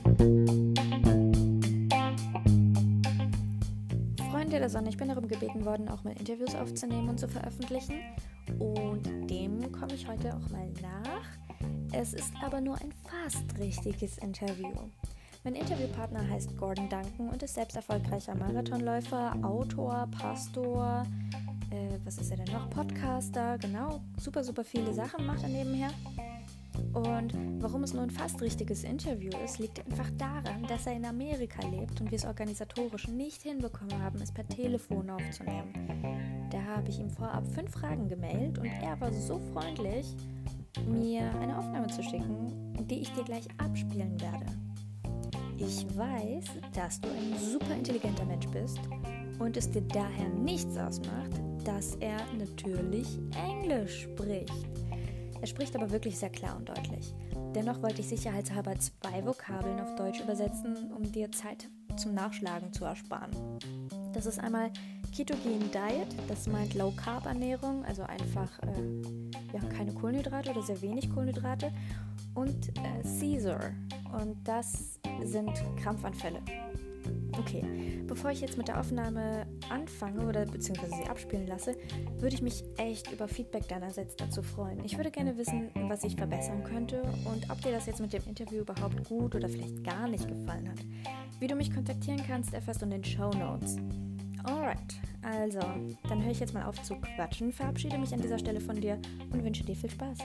Freunde der Sonne, ich bin darum gebeten worden, auch mal Interviews aufzunehmen und zu veröffentlichen. Und dem komme ich heute auch mal nach. Es ist aber nur ein fast richtiges Interview. Mein Interviewpartner heißt Gordon Duncan und ist selbst erfolgreicher Marathonläufer, Autor, Pastor, was ist er denn noch? Podcaster, genau, super viele Sachen macht er nebenher. Und warum es nur ein fast richtiges Interview ist, liegt einfach daran, dass er in Amerika lebt und wir es organisatorisch nicht hinbekommen haben, es per Telefon aufzunehmen. Da habe ich ihm vorab 5 Fragen gemailt und er war so freundlich, mir eine Aufnahme zu schicken, die ich dir gleich abspielen werde. Ich weiß, dass du ein super intelligenter Mensch bist und es dir daher nichts ausmacht, dass er natürlich Englisch spricht. Er spricht aber wirklich sehr klar und deutlich. Dennoch wollte ich sicherheitshalber 2 Vokabeln auf Deutsch übersetzen, um dir Zeit zum Nachschlagen zu ersparen. Das ist einmal Ketogene Diet, das meint Low-Carb-Ernährung, also einfach keine Kohlenhydrate oder sehr wenig Kohlenhydrate. Und Caesar, und das sind Krampfanfälle. Okay, bevor ich jetzt mit der Aufnahme anfange oder beziehungsweise sie abspielen lasse, würde ich mich echt über Feedback deinerseits dazu freuen. Ich würde gerne wissen, was ich verbessern könnte und ob dir das jetzt mit dem Interview überhaupt gut oder vielleicht gar nicht gefallen hat. Wie du mich kontaktieren kannst, erfährst du in den Shownotes. Alright, also, dann höre ich jetzt mal auf zu quatschen, verabschiede mich an dieser Stelle von dir und wünsche dir viel Spaß.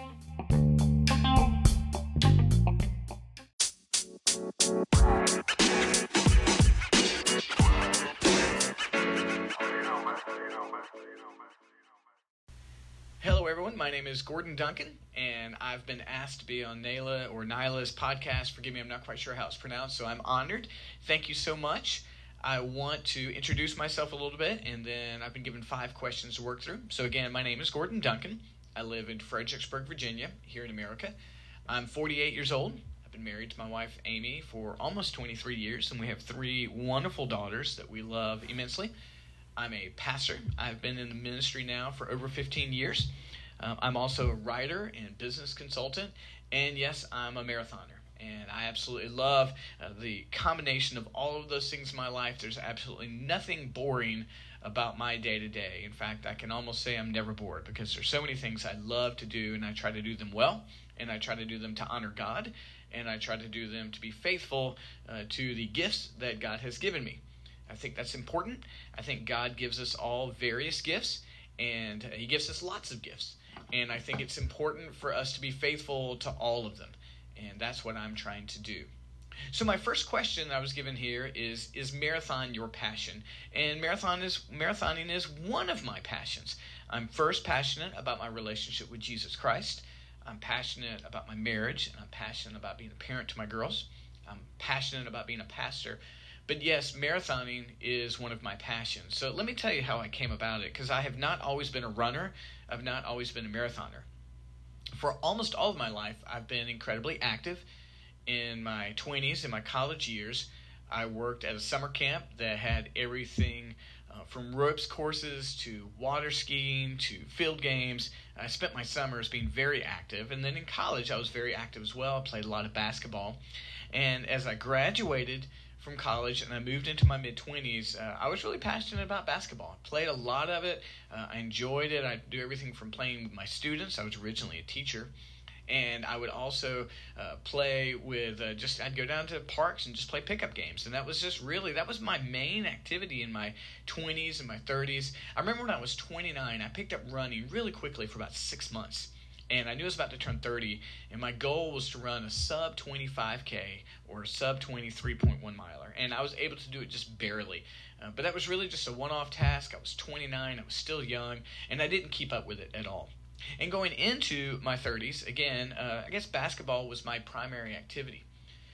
Hello everyone, my name is Gordon Duncan, and I've been asked to be on Nyla's podcast. Forgive me, I'm not quite sure how it's pronounced, so I'm honored. Thank you so much. I want to introduce myself a little bit, and then I've been given 5 questions to work through. So again, my name is Gordon Duncan. I live in Fredericksburg, Virginia, here in America. I'm 48 years old. I've been married to my wife, Amy, for almost 23 years, and we have 3 wonderful daughters that we love immensely. I'm a pastor. I've been in the ministry now for over 15 years. I'm also a writer and business consultant, and yes, I'm a marathoner. And I absolutely love the combination of all of those things in my life. There's absolutely nothing boring about my day-to-day. In fact, I can almost say I'm never bored because there's so many things I love to do, and I try to do them well, and I try to do them to honor God, and I try to do them to be faithful to the gifts that God has given me. I think that's important. I think God gives us all various gifts, and He gives us lots of gifts. And I think it's important for us to be faithful to all of them. And that's what I'm trying to do. So my first question I was given here is marathon your passion? And marathoning is one of my passions. I'm first passionate about my relationship with Jesus Christ. I'm passionate about my marriage, and I'm passionate about being a parent to my girls. I'm passionate about being a pastor. But yes, marathoning is one of my passions. So let me tell you how I came about it, because I have not always been a runner. I've not always been a marathoner. For almost all of my life, I've been incredibly active. In my 20s, in my college years, I worked at a summer camp that had everything from ropes courses to water skiing to field games. I spent my summers being very active. And then in college, I was very active as well. I played a lot of basketball. And as I graduated from college and I moved into my mid-20s, I was really passionate about basketball. I played a lot of it. I enjoyed it. I'd do everything from playing with my students. I was originally a teacher. And I would also play with I'd go down to parks and just play pickup games. And that was my main activity in my 20s and my 30s. I remember when I was 29, I picked up running really quickly for about 6 months. And I knew I was about to turn 30, and my goal was to run a sub 25K or a sub 23.1 miler. And I was able to do it just barely. But that was really just a one-off task. I was 29, I was still young, and I didn't keep up with it at all. And going into my 30s, again, I guess basketball was my primary activity.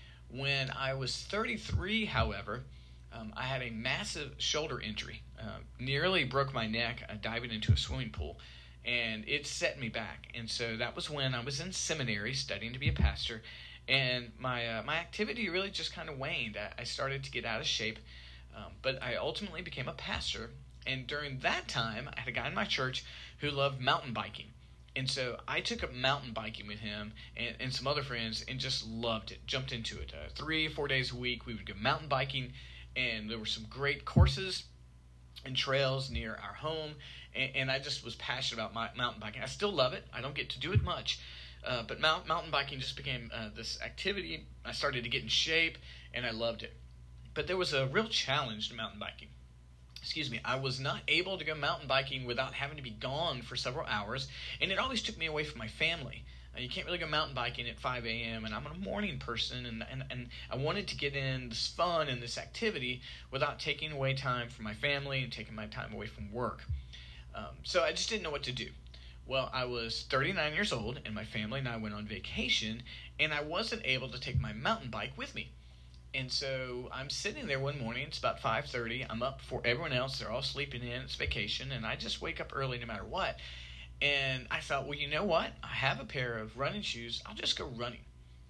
When I was 33, however, I had a massive shoulder injury. Nearly broke my neck diving into a swimming pool. And it set me back. And so that was when I was in seminary studying to be a pastor. And my activity really just kind of waned. I started to get out of shape. But I ultimately became a pastor. And during that time, I had a guy in my church who loved mountain biking. And so I took up mountain biking with him and some other friends and just loved it, jumped into it. 3 or 4 days a week, we would go mountain biking, and there were some great courses and trails near our home, and I just was passionate about my mountain biking. I still love it. I don't get to do it much, but mountain biking just became this activity. I started to get in shape, and I loved it. But there was a real challenge to mountain biking. I was not able to go mountain biking without having to be gone for several hours, and it always took me away from my family. You can't really go mountain biking at 5 a.m., and I'm a morning person, and I wanted to get in this fun and this activity without taking away time from my family and taking my time away from work. So I just didn't know what to do. Well, I was 39 years old, and my family and I went on vacation, and I wasn't able to take my mountain bike with me. And so I'm sitting there one morning, it's about 5:30, I'm up before everyone else, they're all sleeping in, it's vacation, and I just wake up early no matter what. And I thought, well, you know what? I have a pair of running shoes. I'll just go running.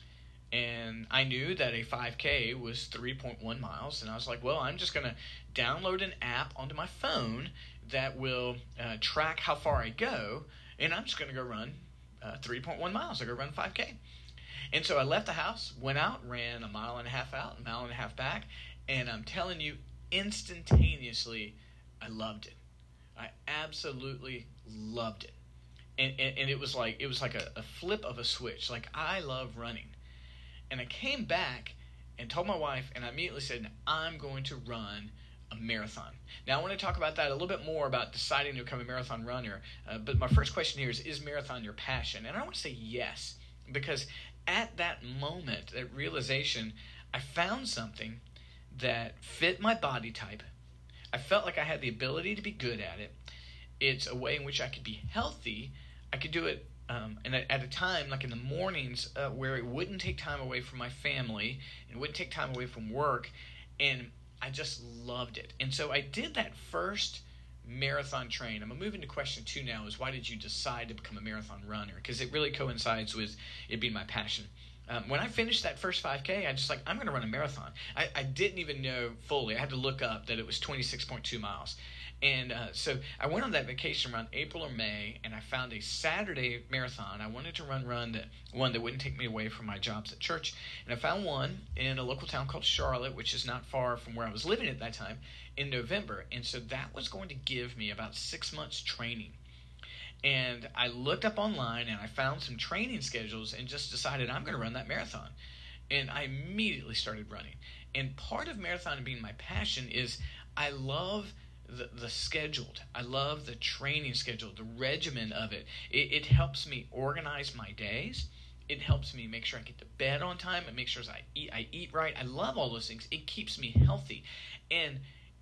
And I knew that a 5K was 3.1 miles. And I was like, well, I'm just going to download an app onto my phone that will track how far I go. And I'm just going to go run 3.1 miles. I'll go run 5K. And so I left the house, went out, ran a mile and a half out, a mile and a half back. And I'm telling you, instantaneously, I loved it. I absolutely loved it. And it was like a flip of a switch. Like, I love running. And I came back and told my wife, and I immediately said, I'm going to run a marathon. Now, I want to talk about that a little bit more, about deciding to become a marathon runner. But my first question here is marathon your passion? And I want to say yes, because at that moment, that realization, I found something that fit my body type. I felt like I had the ability to be good at it. It's a way in which I could be healthy. I could do it and at a time, like in the mornings, where it wouldn't take time away from my family, and it wouldn't take time away from work, and I just loved it. And so I did that first marathon train. I'm going to move into question 2 now, is why did you decide to become a marathon runner? Because it really coincides with it being my passion. When I finished that first 5K, I just I'm going to run a marathon. I didn't even know fully. I had to look up that it was 26.2 miles. And so I went on that vacation around April or May, and I found a Saturday marathon. I wanted to run one that wouldn't take me away from my jobs at church. And I found one in a local town called Charlotte, which is not far from where I was living at that time, in November. And so that was going to give me about 6 months training. And I looked up online, and I found some training schedules and just decided I'm going to run that marathon. And I immediately started running. And part of marathon being my passion is I love the scheduled. I love the training schedule, the regimen of it. It helps me organize my days. It helps me make sure I get to bed on time. It makes sure I eat right. I love all those things. It keeps me healthy. And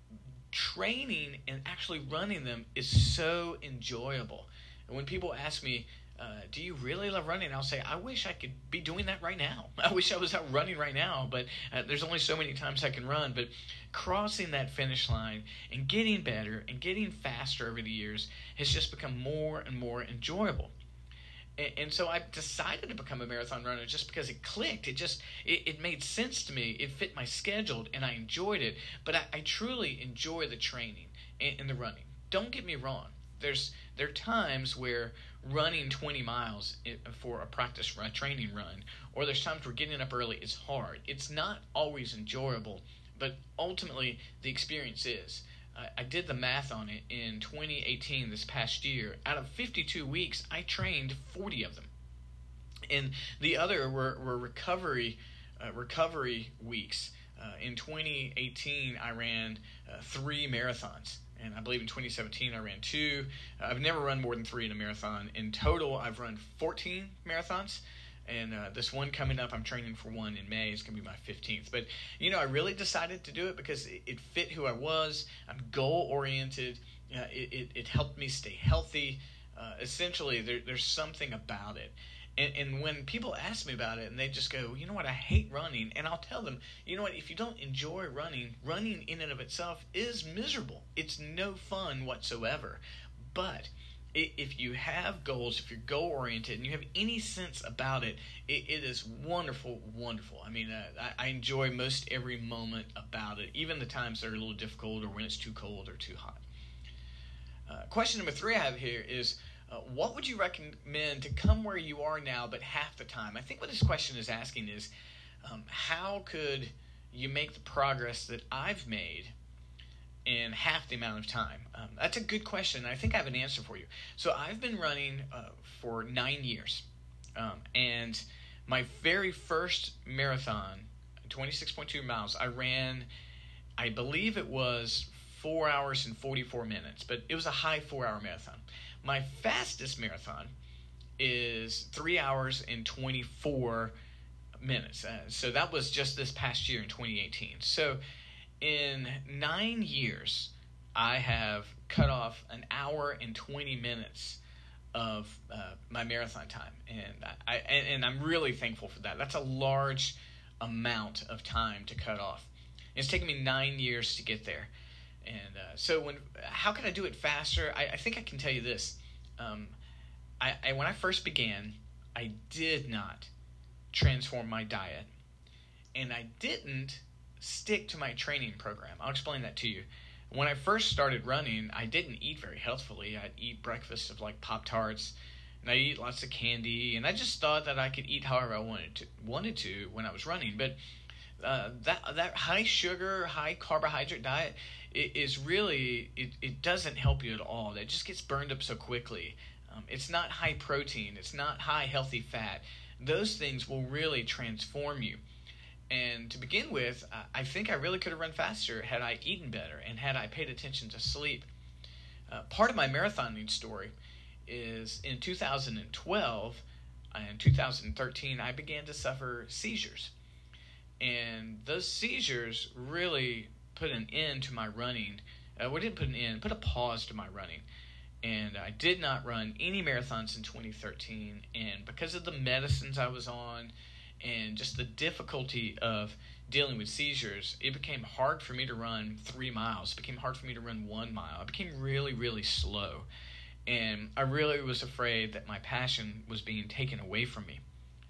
training and actually running them is so enjoyable. And when people ask me, do you really love running? I'll say, I wish I could be doing that right now. I wish I was out running right now, but there's only so many times I can run. But crossing that finish line and getting better and getting faster over the years has just become more and more enjoyable. And so I decided to become a marathon runner just because it clicked. It made sense to me. It fit my schedule, and I enjoyed it. But I truly enjoy the training and the running. Don't get me wrong. There are times where running 20 miles for a practice run, training run, or there's times where getting up early is hard. It's not always enjoyable, but ultimately the experience is. I did the math on it in 2018, this past year. Out of 52 weeks, I trained 40 of them. And the other were recovery weeks. In 2018, I ran 3 marathons. And I believe in 2017, I ran 2. I've never run more than 3 in a marathon. In total, I've run 14 marathons. And this one coming up, I'm training for one in May. It's going to be my 15th. But, I really decided to do it because it fit who I was. I'm goal-oriented. It helped me stay healthy. Essentially, there's something about it. And when people ask me about it and they just go, you know what, I hate running. And I'll tell them, you know what, if you don't enjoy running in and of itself is miserable. It's no fun whatsoever. But if you have goals, if you're goal-oriented, and you have any sense about it, it is wonderful, wonderful. I mean, I enjoy most every moment about it, even the times that are a little difficult or when it's too cold or too hot. Question number 3 I have here is, what would you recommend to come where you are now but half the time? I think what this question is asking is, how could you make the progress that I've made in half the amount of time? That's a good question. I think I have an answer for you. So I've been running for 9 years. And my very first marathon, 26.2 miles, I ran, I believe it was 4 hours and 44 minutes, but it was a high 4-hour marathon. My fastest marathon is 3 hours and 24 minutes. So that was just this past year in 2018. So in 9 years, I have cut off an hour and 20 minutes of my marathon time, and I'm really thankful for that. That's a large amount of time to cut off. It's taken me 9 years to get there, and so how can I do it faster? I think I can tell you this. When I first began, I did not transform my diet, and I didn't stick to my training program. I'll explain that to you. When I first started running, I didn't eat very healthfully. I'd eat breakfast of like Pop-Tarts, and I'd eat lots of candy, and I just thought that I could eat however I wanted to when I was running. But that high sugar, high carbohydrate diet is really, it doesn't help you at all. It just gets burned up so quickly. It's not high protein. It's not high healthy fat. Those things will really transform you. And to begin with, I think I really could have run faster had I eaten better and had I paid attention to sleep. Part of my marathoning story is in 2012 and 2013, I began to suffer seizures. And those seizures really put an end to my running. Put a pause to my running. And I did not run any marathons in 2013. And because of the medicines I was on, and just the difficulty of dealing with seizures, it became hard for me to run 3 miles. It became hard for me to run 1 mile. I became really, really slow. And I really was afraid that my passion was being taken away from me.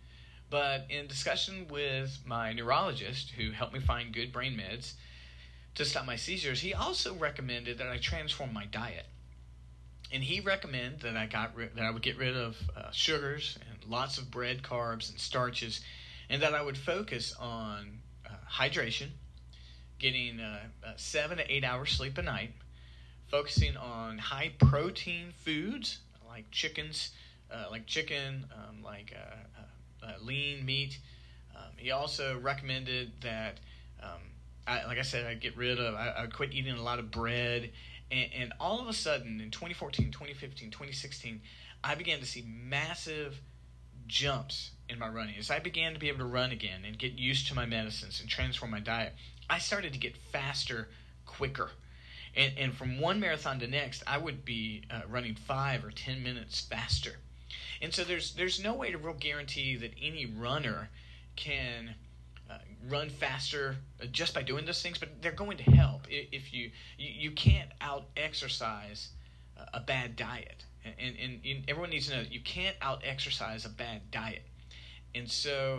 But in discussion with my neurologist, who helped me find good brain meds to stop my seizures, he also recommended that I transform my diet. And he recommended that I would get rid of sugars and lots of bread, carbs, and starches, and that I would focus on hydration, getting 7 to 8 hours sleep a night, focusing on high protein foods like chicken, lean meat. He also recommended that, I would quit eating a lot of bread. And all of a sudden, in 2014, 2015, 2016, I began to see massive jumps in my running. As I began to be able to run again and get used to my medicines and transform my diet, I started to get faster, quicker. And from one marathon to next, I would be running 5 or 10 minutes faster. And so there's no way to real guarantee that any runner can run faster just by doing those things, but they're going to help. If you can't out-exercise a bad diet, and everyone needs to know that you can't out-exercise a bad diet. And so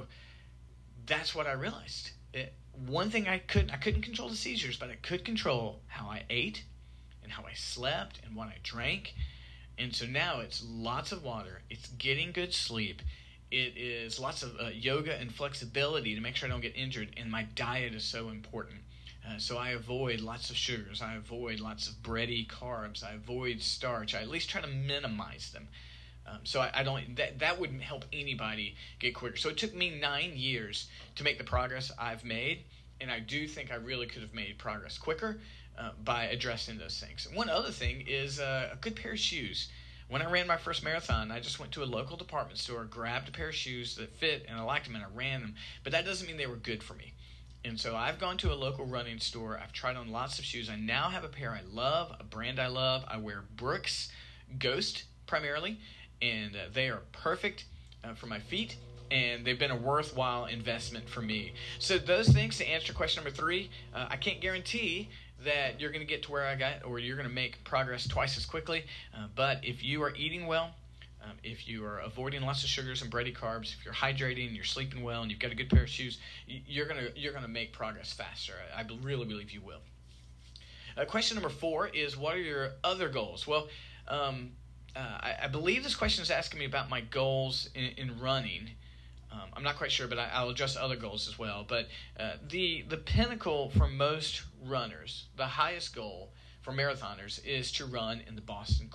that's what I realized. One thing I couldn't control the seizures, but I could control how I ate and how I slept and what I drank. And so now it's lots of water, it's getting good sleep, it is lots of yoga and flexibility to make sure I don't get injured, and my diet is so important. So I avoid lots of sugars, I avoid lots of bready carbs, I avoid starch, I at least try to minimize them. So I don't, that wouldn't help anybody get quicker. So it took me 9 years to make the progress I've made, and I do think I really could have made progress quicker by addressing those things. One other thing is a good pair of shoes. When I ran my first marathon, I just went to a local department store, grabbed a pair of shoes that fit, and I liked them, and I ran them. But that doesn't mean they were good for me. And so I've gone to a local running store. I've tried on lots of shoes. I now have a pair I love, a brand I love. I wear Brooks Ghost primarily, and they are perfect for my feet, and they've been a worthwhile investment for me. So those things, to answer question number 3, I can't guarantee that you're going to get to where I got, or you're going to make progress twice as quickly. But if you are eating well, if you are avoiding lots of sugars and bready carbs, if you're hydrating, you're sleeping well, and you've got a good pair of shoes, you're gonna make progress faster. I really believe you will. Question number 4 is, what are your other goals? Well, I believe this question is asking me about my goals in running. I'm not quite sure, but I'll address other goals as well. But the pinnacle for most runners, the highest goal for marathoners, is to run in the Boston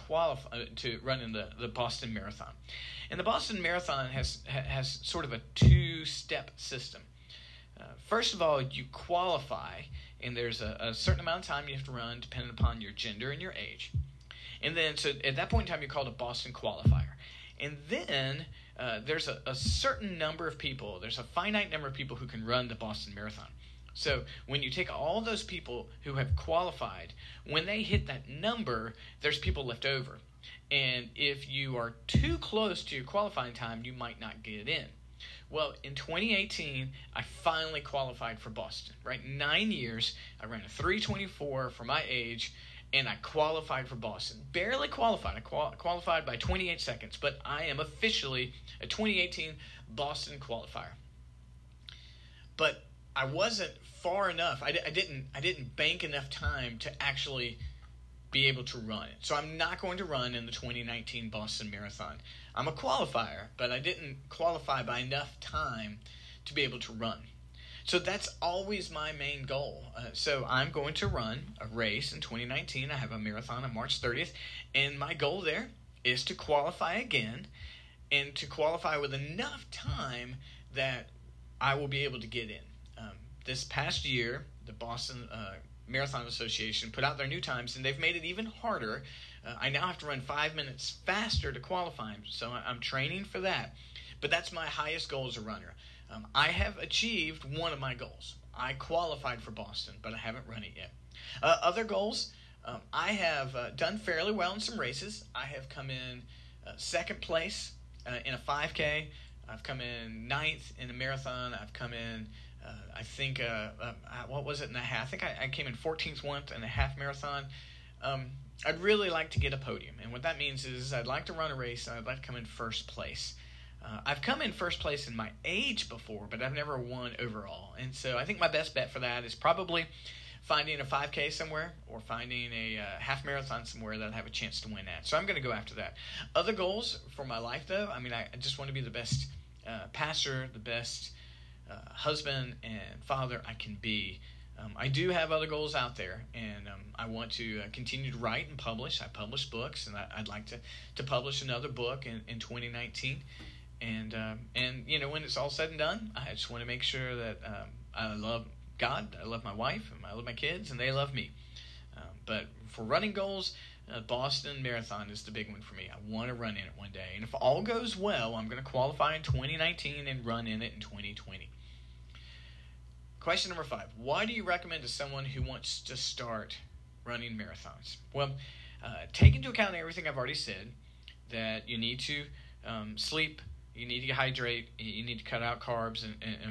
the Boston Marathon. And the Boston Marathon has sort of a two-step system. First of all, you qualify, and there's a certain amount of time you have to run depending upon your gender and your age. And then, so at that point in time, you're called a Boston qualifier. And then there's a certain number of people, there's a finite number of people who can run the Boston Marathon. So when you take all those people who have qualified, when they hit that number, there's people left over. And if you are too close to your qualifying time, you might not get in. Well, in 2018, I finally qualified for Boston, right? 9 years, I ran a 3:24 for my age, and I qualified for Boston. Barely qualified. I qualified by 28 seconds, but I am officially a 2018 Boston qualifier. But I wasn't far enough. I didn't bank enough time to actually be able to run it. So I'm not going to run in the 2019 Boston Marathon. I'm a qualifier, but I didn't qualify by enough time to be able to run. So that's always my main goal. So I'm going to run a race in 2019. I have a marathon on March 30th, and my goal there is to qualify again, and to qualify with enough time that I will be able to get in. This past year, the Boston Marathon Association put out their new times, and they've made it even harder. I now have to run 5 minutes faster to qualify, so I'm training for that. But that's my highest goal as a runner. I have achieved one of my goals. I qualified for Boston, but I haven't run it yet. Other goals, I have done fairly well in some races. I have come in second place in a 5K. I've come in 9th in a marathon. I've come in, what was it in a half? I think I came in 14th once in a half marathon. I'd really like to get a podium. And what that means is I'd like to run a race, and I'd like to come in first place. I've come in first place in my age before, but I've never won overall. And so I think my best bet for that is probably finding a 5K somewhere or finding a half marathon somewhere that I have a chance to win at. So I'm going to go after that. Other goals for my life, though, I just want to be the best pastor, the best husband and father I can be. I do have other goals out there, and I want to continue to write and publish. I publish books, and I'd like to publish another book in 2019. And when it's all said and done, I just want to make sure that I love God, I love my wife, and I love my kids, and they love me. But for running goals, Boston Marathon is the big one for me. I want to run in it one day. And if all goes well, I'm going to qualify in 2019 and run in it in 2020. Question number 5. Why do you recommend to someone who wants to start running marathons? Well, take into account everything I've already said, that you need to sleep, you need to hydrate, you need to cut out carbs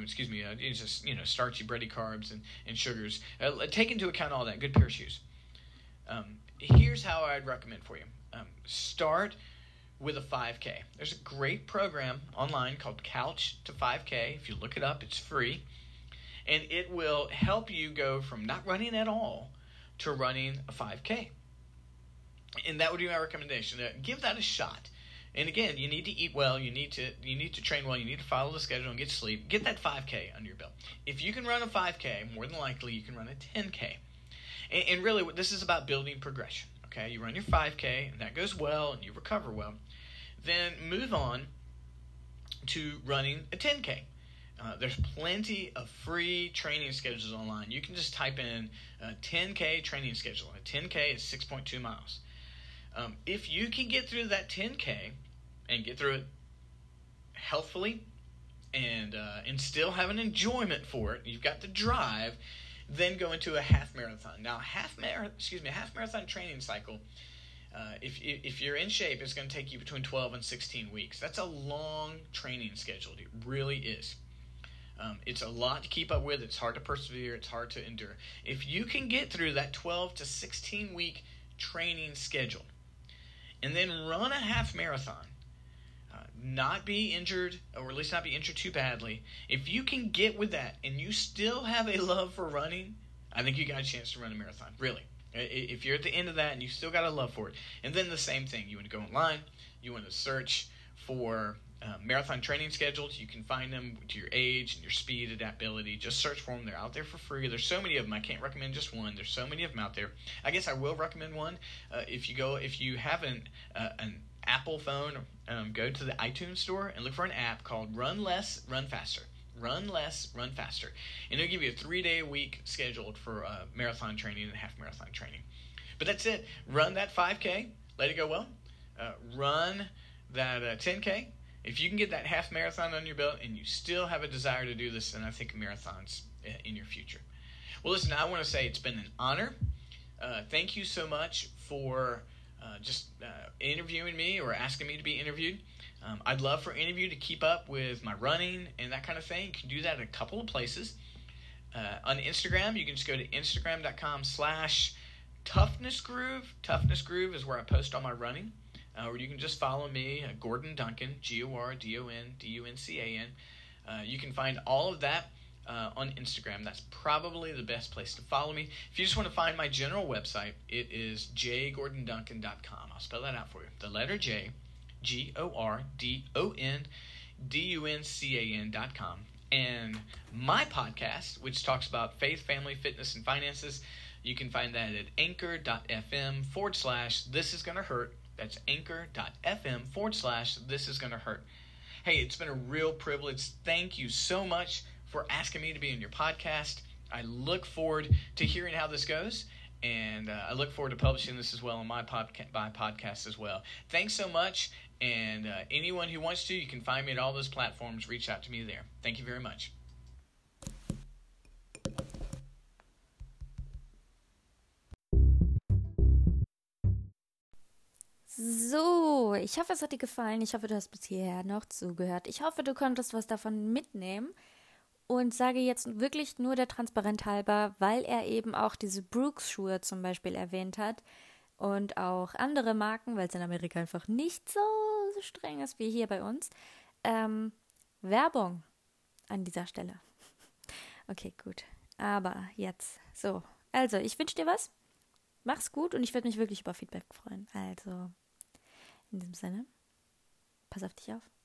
starchy, bready carbs and sugars. Take into account all that. Good pair of shoes. Here's how I'd recommend for you. Start with a 5K. There's a great program online called Couch to 5K. If you look it up, it's free. And it will help you go from not running at all to running a 5K. And that would be my recommendation. Give that a shot. And again, you need to eat well, you need to train well, you need to follow the schedule and get sleep. Get that 5K under your belt. If you can run a 5K, more than likely you can run a 10K. And really, this is about building progression. Okay, you run your 5K, and that goes well, and you recover well. Then move on to running a 10K. There's plenty of free training schedules online. You can just type in 10K training schedule. A 10K is 6.2 miles. If you can get through that 10K and get through it healthfully and still have an enjoyment for it, you've got the drive, then go into a half marathon. Now, half marathon training cycle, if you're in shape, it's going to take you between 12 and 16 weeks. That's a long training schedule. It really is. It's a lot to keep up with. It's hard to persevere. It's hard to endure. If you can get through that 12 to 16 week training schedule and then run a half marathon, not be injured, or at least not be injured too badly, if you can get with that and you still have a love for running, I think you got a chance to run a marathon. Really. If you're at the end of that and you still got a love for it. And then the same thing. You want to go online. You want to search for marathon training schedules. You can find them to your age and your speed, adaptability. Just search for them. They're out there for free. There's so many of them. I can't recommend just one. There's so many of them out there. I guess I will recommend one. If you have an Apple phone, go to the iTunes store and look for an app called Run Less, Run Faster. Run Less, Run Faster. And it'll give you a 3-day-a-week scheduled for marathon training and half marathon training. But that's it. Run that 5K. Let it go well. Run that 10K. If you can get that half marathon on your belt and you still have a desire to do this, then I think marathons in your future. Well, listen, I want to say it's been an honor. Thank you so much for just interviewing me or asking me to be interviewed. I'd love for any of you to keep up with my running and that kind of thing. You can do that in a couple of places. On Instagram, you can just go to instagram.com/toughnessgroove. Toughness Groove is where I post all my running. Or you can just follow me, Gordon Duncan, GORDONDUNCAN. You can find all of that on Instagram. That's probably the best place to follow me. If you just want to find my general website, it is jgordonduncan.com. I'll spell that out for you. The letter J, GORDONDUNCAN.com. And my podcast, which talks about faith, family, fitness, and finances, you can find that at anchor.fm/This Is Gonna Hurt. That's anchor.fm/This Is Gonna Hurt. Hey, it's been a real privilege. Thank you so much for asking me to be in your podcast. I look forward to hearing how this goes, and I look forward to publishing this as well on my podcast as well. Thanks so much, and anyone who wants to, you can find me at all those platforms. Reach out to me there. Thank you very much. So, ich hoffe, es hat dir gefallen. Ich hoffe, du hast bis hierher noch zugehört. Ich hoffe, du konntest was davon mitnehmen und sage jetzt wirklich nur der Transparenz halber, weil er eben auch diese Brooks-Schuhe zum Beispiel erwähnt hat und auch andere Marken, weil es in Amerika einfach nicht so streng ist wie hier bei uns. Werbung an dieser Stelle. Okay, gut. Aber jetzt so. Also, ich wünsche dir was. Mach's gut und ich würde mich wirklich über Feedback freuen. Also, in diesem Sinne, pass auf dich auf.